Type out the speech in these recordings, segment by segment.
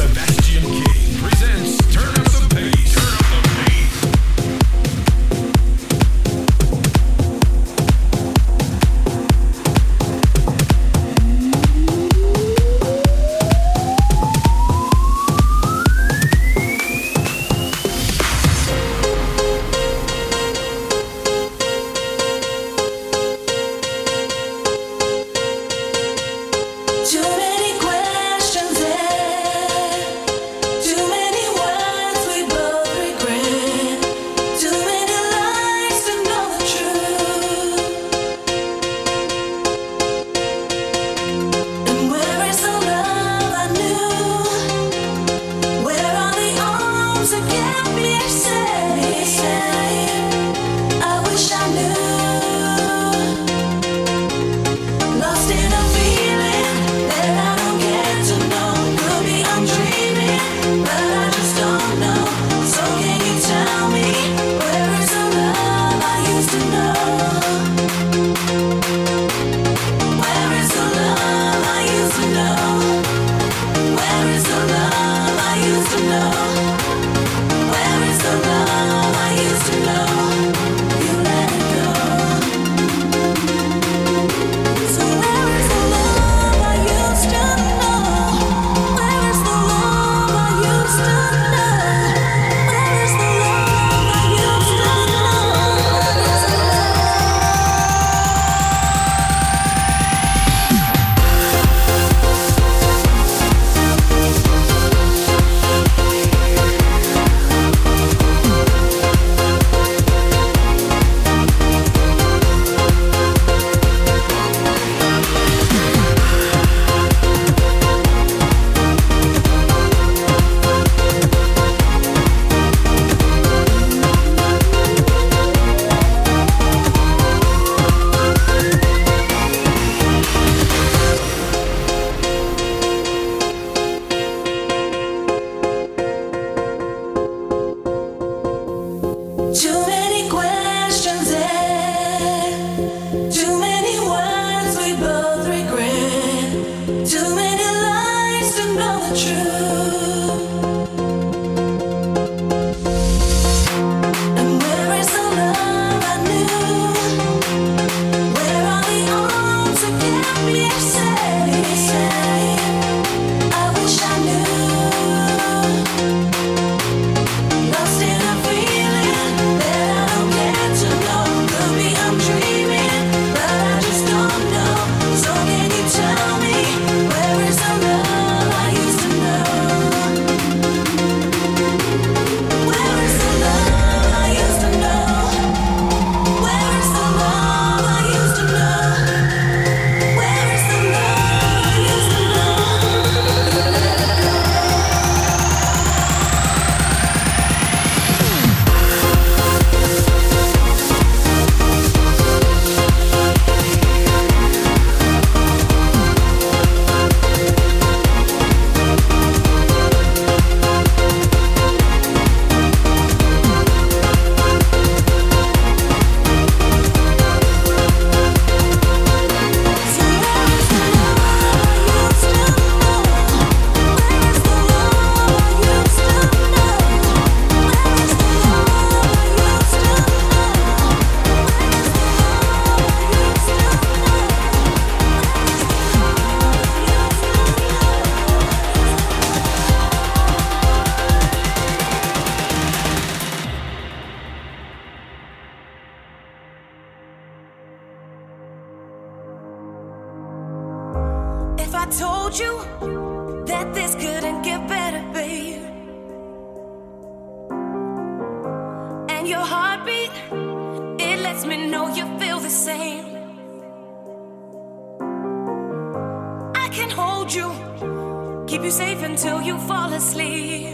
Sebastian King presents Turn Up the Pace. Turn Up the Pace. told you that this couldn't get better, babe. And your heartbeat, it lets me know you feel the same. I can hold you, keep you safe until you fall asleep.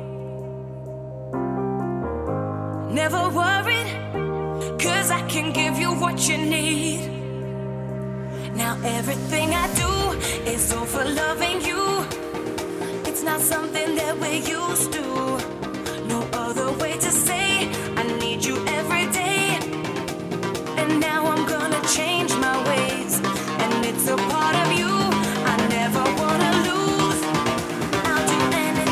Never worried, 'cause I can give you what you need. Now everything I do is all for loving you. It's not something that we're used to. No other way to say I need you every day. And now I'm gonna change my ways, and it's a part of you I never wanna lose. I'll do anything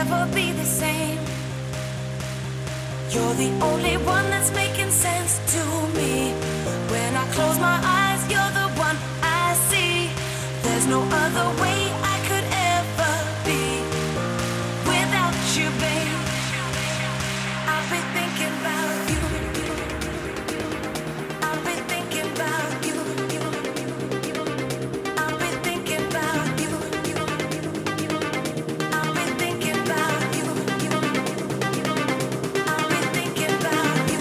never be the same. You're the only one that's making sense to me. When I close my eyes, you're the one I see. There's no other way I could ever be without you, babe. I've been thinking about you. I've been thinking about you. I've been thinking about you. I've been thinking about you. I've been thinking about you.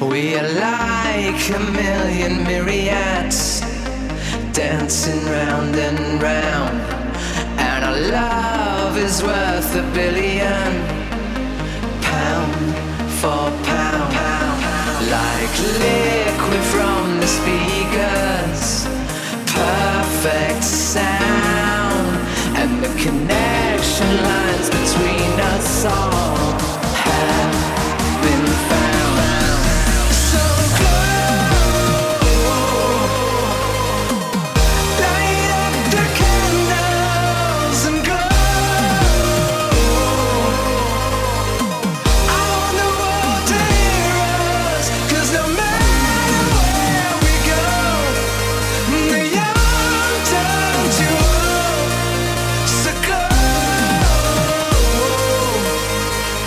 We are like a million myriads dancing round and round, and our love is worth $1 billion, pound for pound, like liquid from the speakers, perfect sound, and the connection lines between us all have been found. So glow, light up the candles and glow. I want the world to hear us, 'cause no matter where we go, the young turn to old. So glow,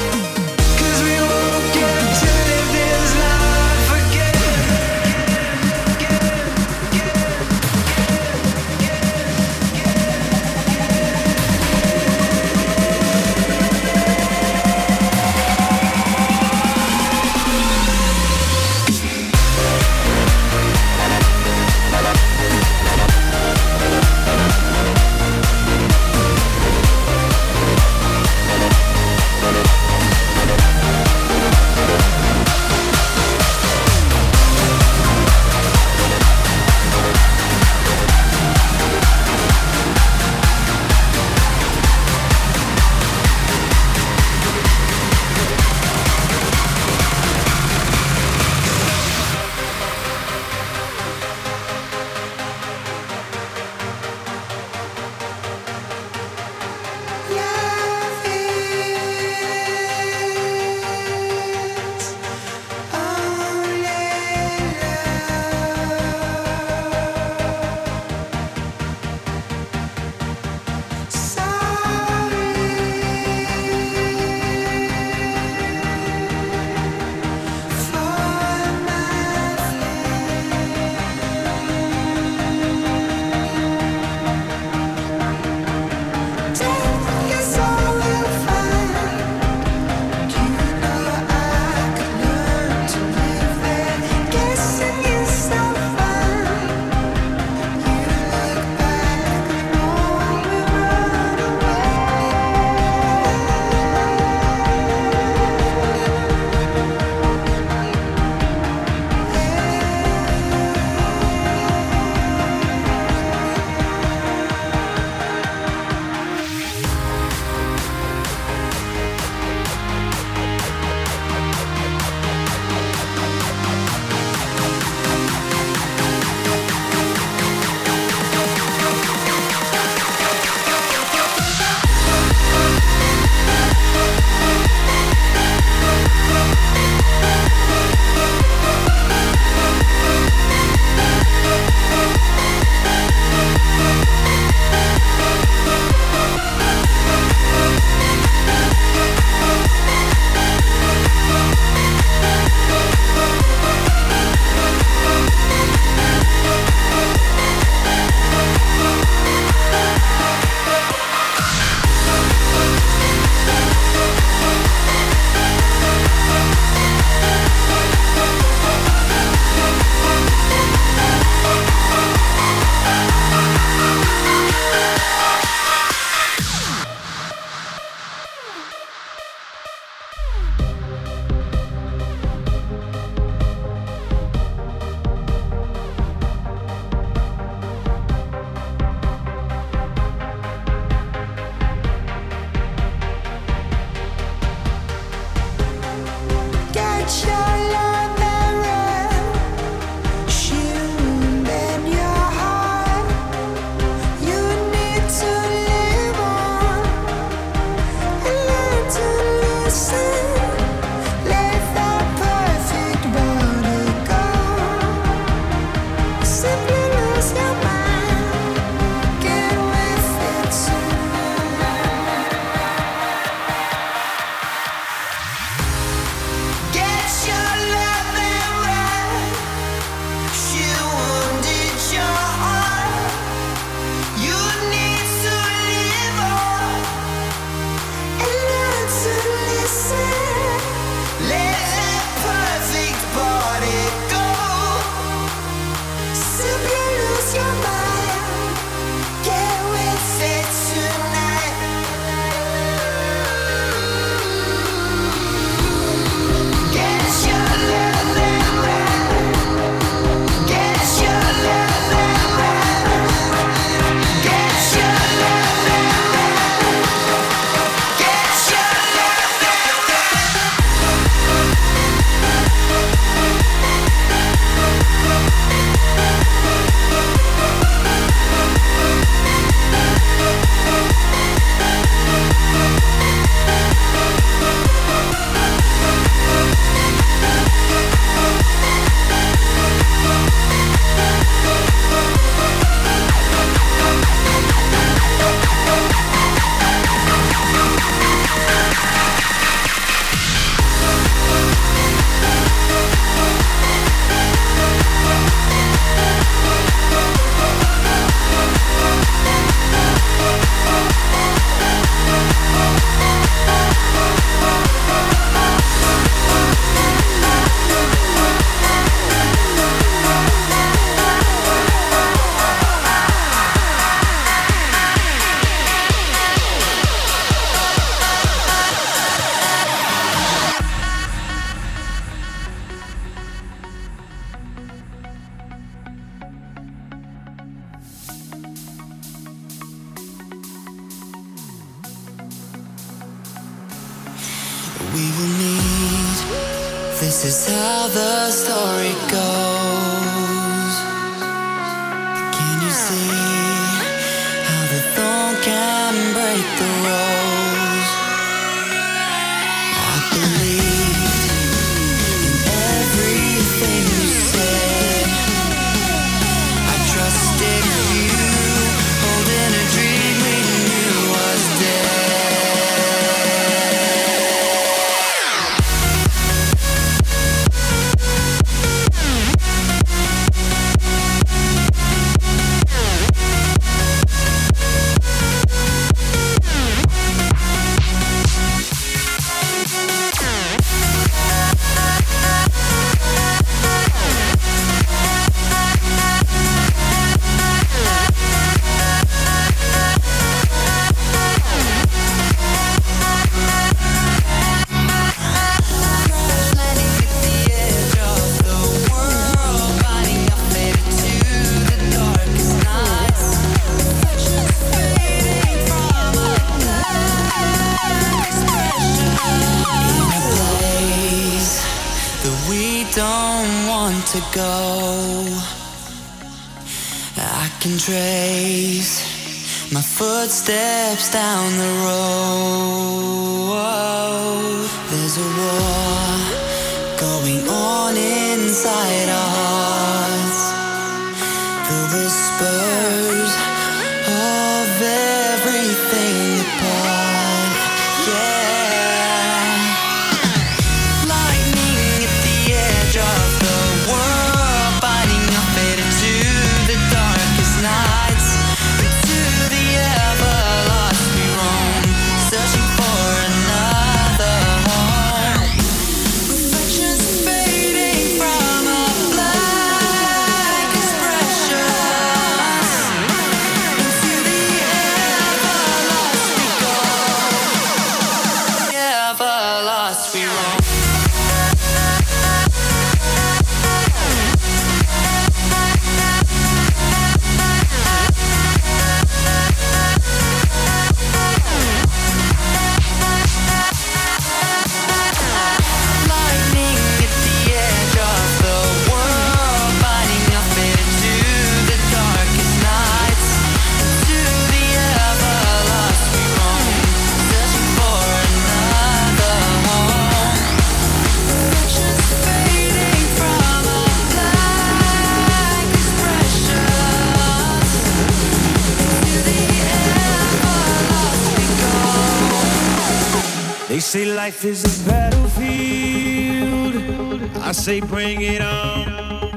This is how the story goes. Can you see how the thorn can break the rose? I believed in everything you said. I trusted you, holding a dream we knew was dead. To go, I can trace my footsteps down the road. There's a war going on inside our hearts. The whispers of everything apart. Yeah, lightning at the edge of the world, biting our fate into the darkest nights. Into the ever-lost we roam, searching for another home. Reflections fading from a black expressions. Into the ever-lost we go. The ever-lost we roam. They say life is a battlefield. I say bring it on.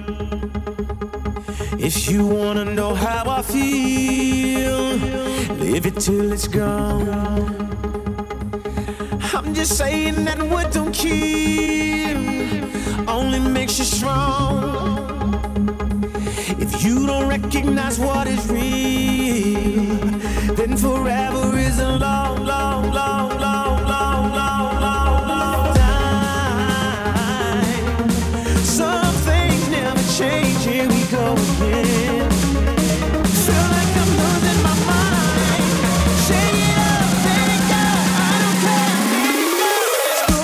If you wanna know how I feel, live it till it's gone. I'm just saying that what don't kill only makes you strong. If you don't recognize what is real, then forever is a long, long, long, long, long, long, long, long time. Some things never change, here we go again. Feel like I'm losing my mind. Shake it up, let it go, I don't care, let it go. Let's go.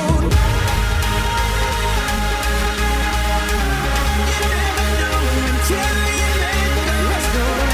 You never know until you let go. Let's go.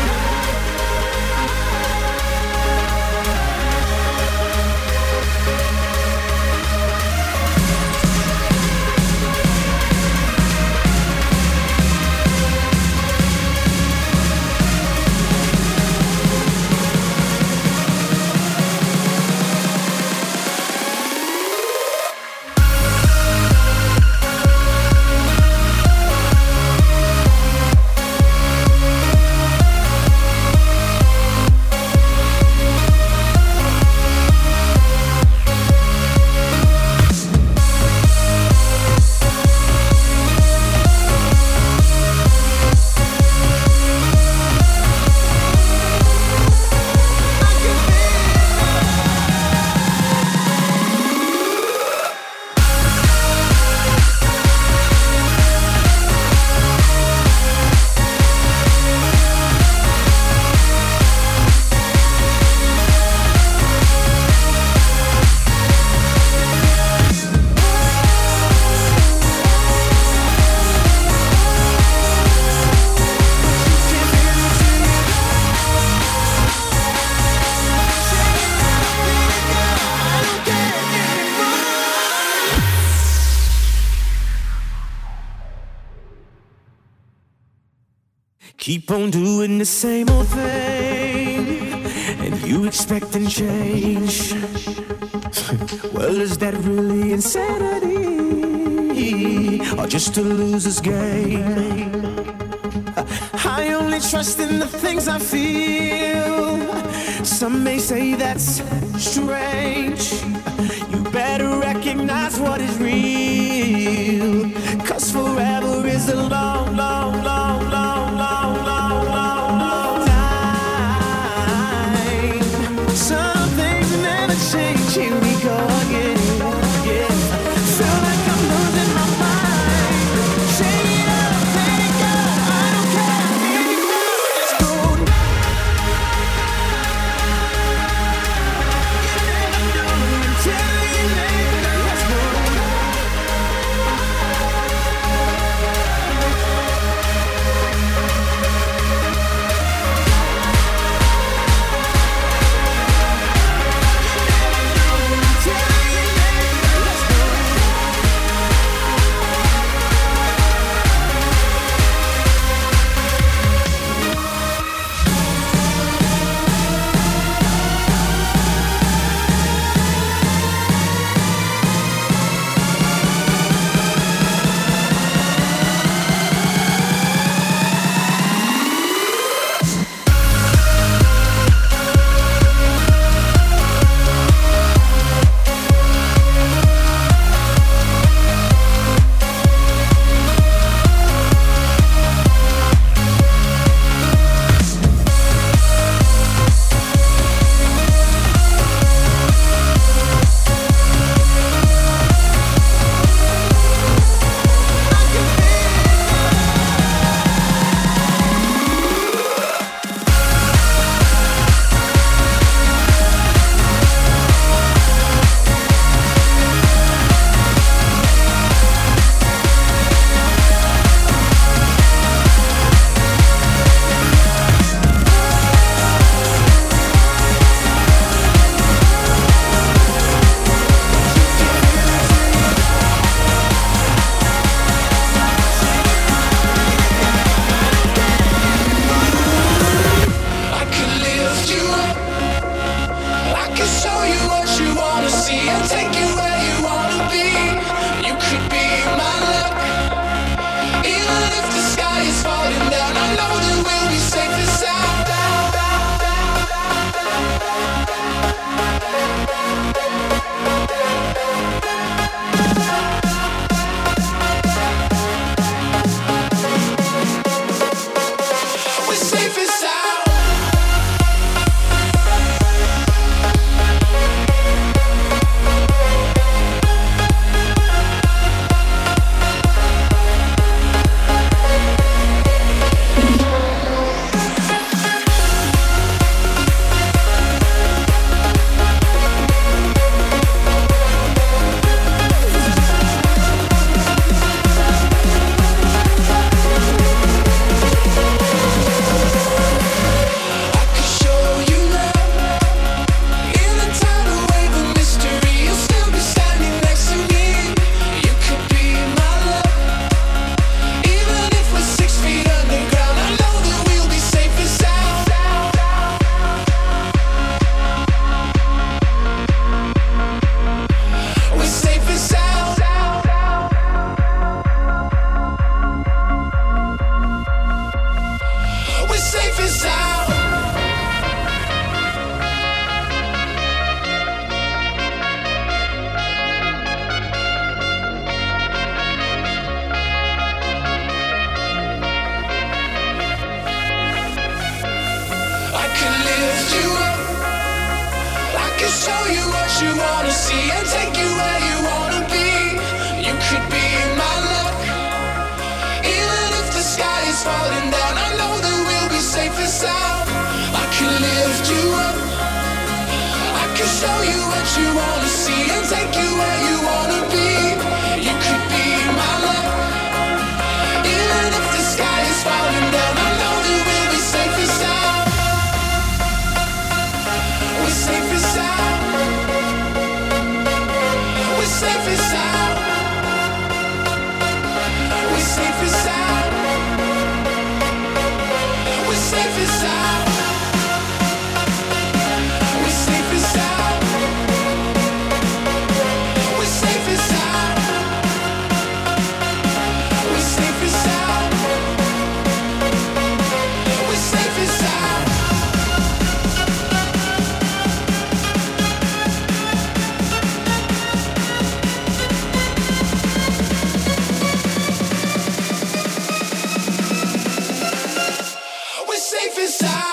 keep on doing the same old thing, and you expecting change. Well, is that really insanity, or just a loser's game? I only trust in the things I feel. Some may say that's strange. You better recognize what is real, 'cause forever is a long, long, long, long, long, long, long, long time. Some things never change. Here we go again, yeah. Feel like I'm losing my mind. Shake it up, let it go. I don't care anymore. Let's go. You never know until you never. Let's go. safe and sound.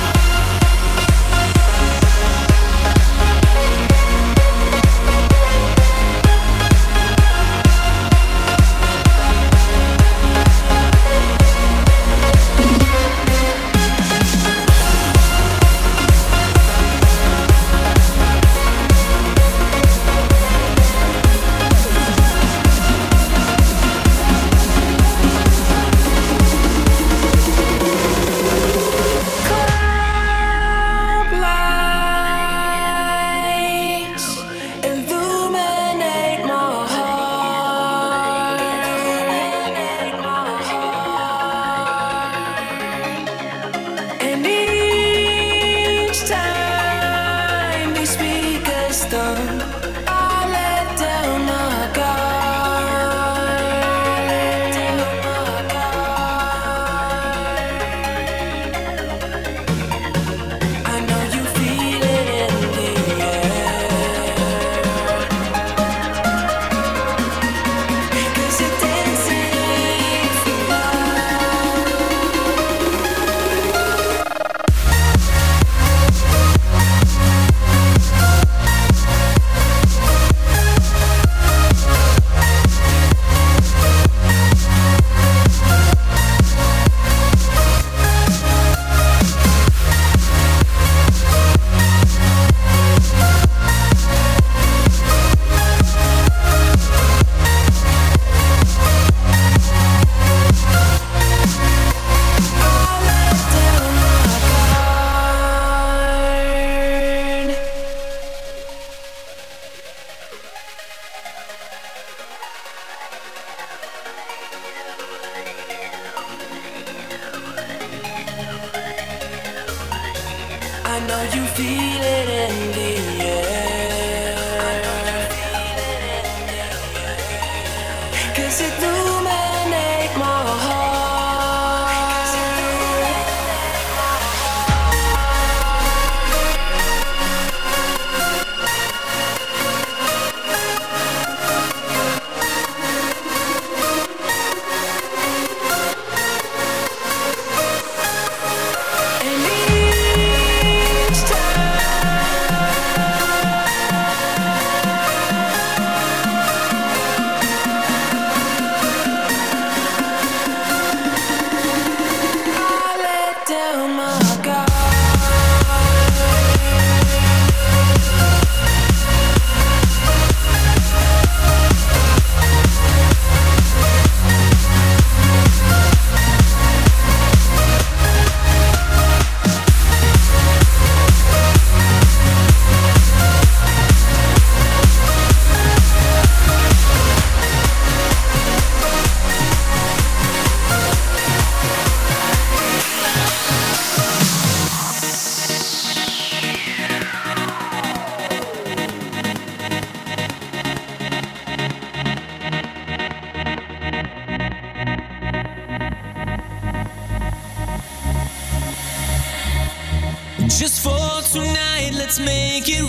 Just for tonight, let's make it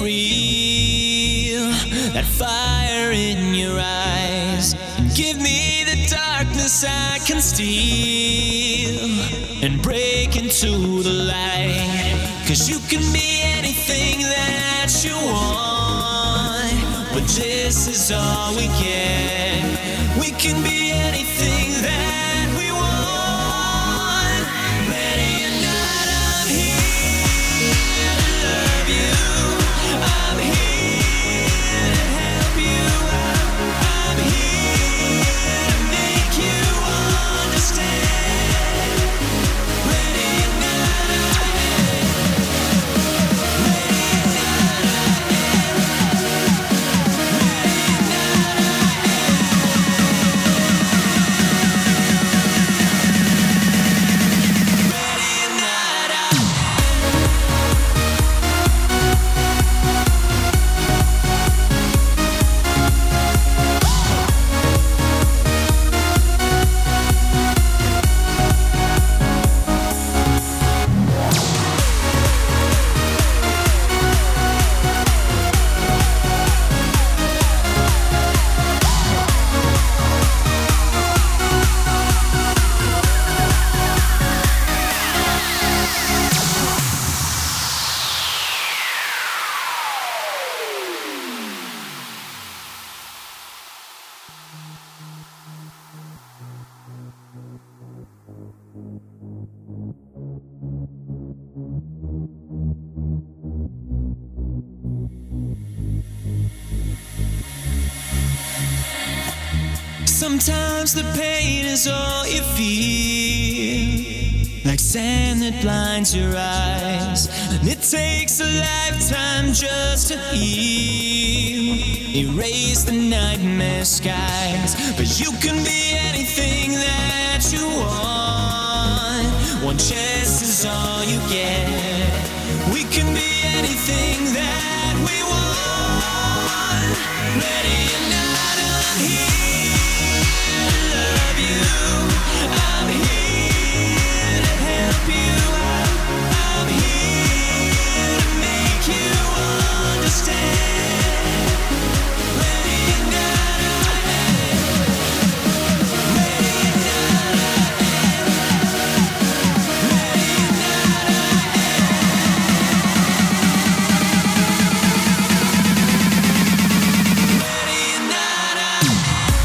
real. That fire in your eyes, give me the darkness I can steal and break into the light. 'Cause you can be anything that you want, but this is all we get. We can be anything that we want. Ready or not, I'm here to love you. I'm here to help you out. I'm here to make you understand. Ready or not, I am. Ready or not, I am. Ready or not, I am. Sometimes the pain is all you feel, like sand that blinds your eyes, and it takes a lifetime just to heal. Erase the nightmare skies, but you can be anything that you want. One chance is all you get. We can be anything that we want. Ready or not, I'm here to love you. I'm here to help you out. I'm here to make you understand. Ready or not, I am. Ready or not, I am. Ready or not, I am. Ready or not, I am.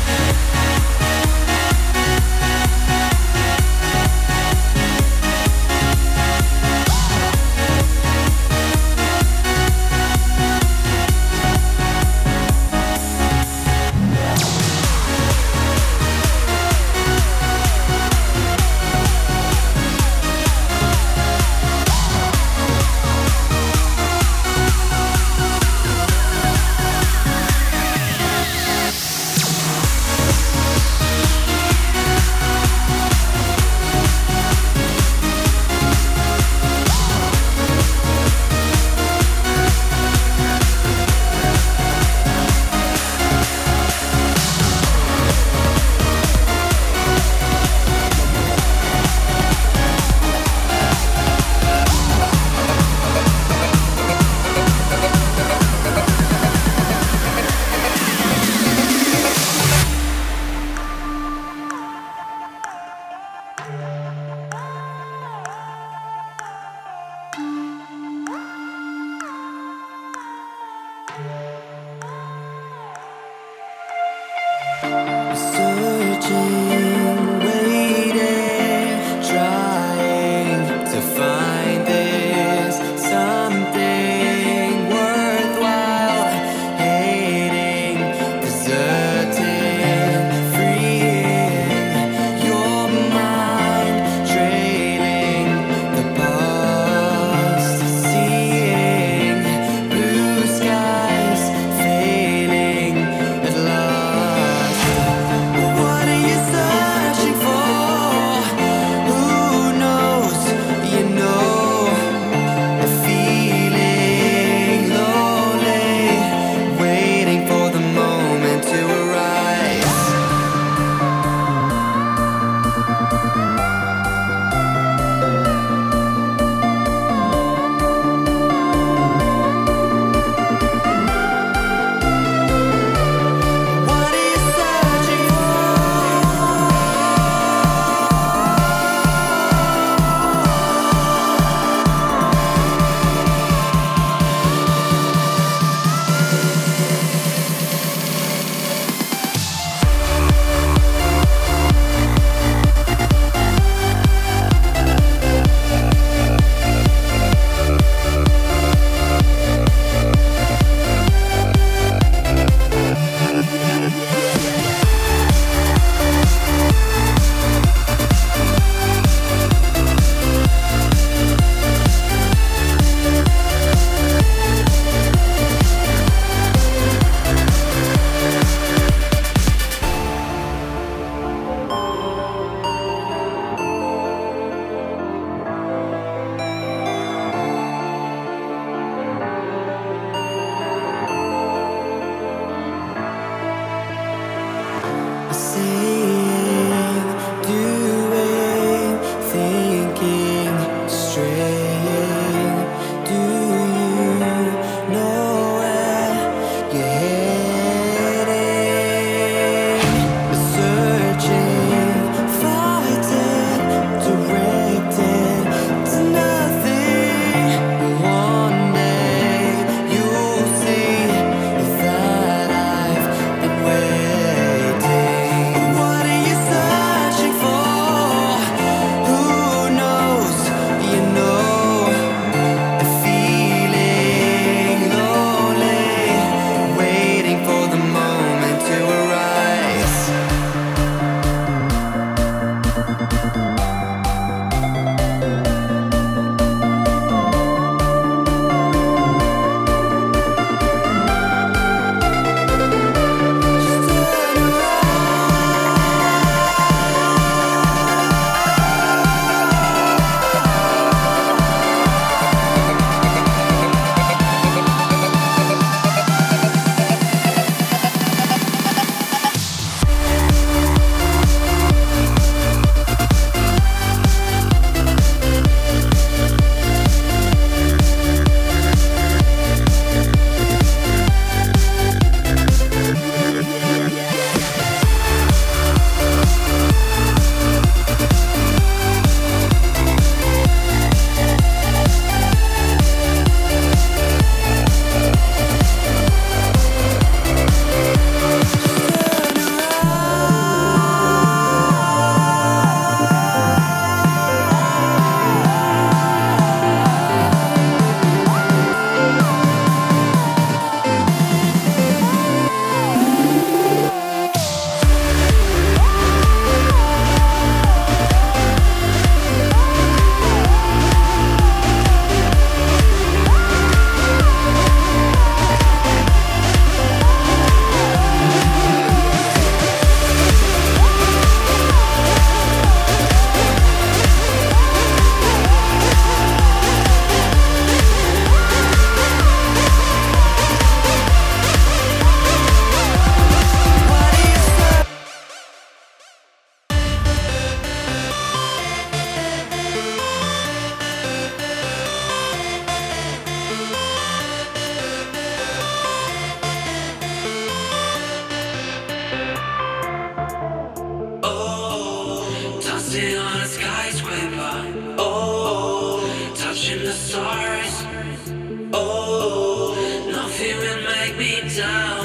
stars. Oh, nothing will make me down.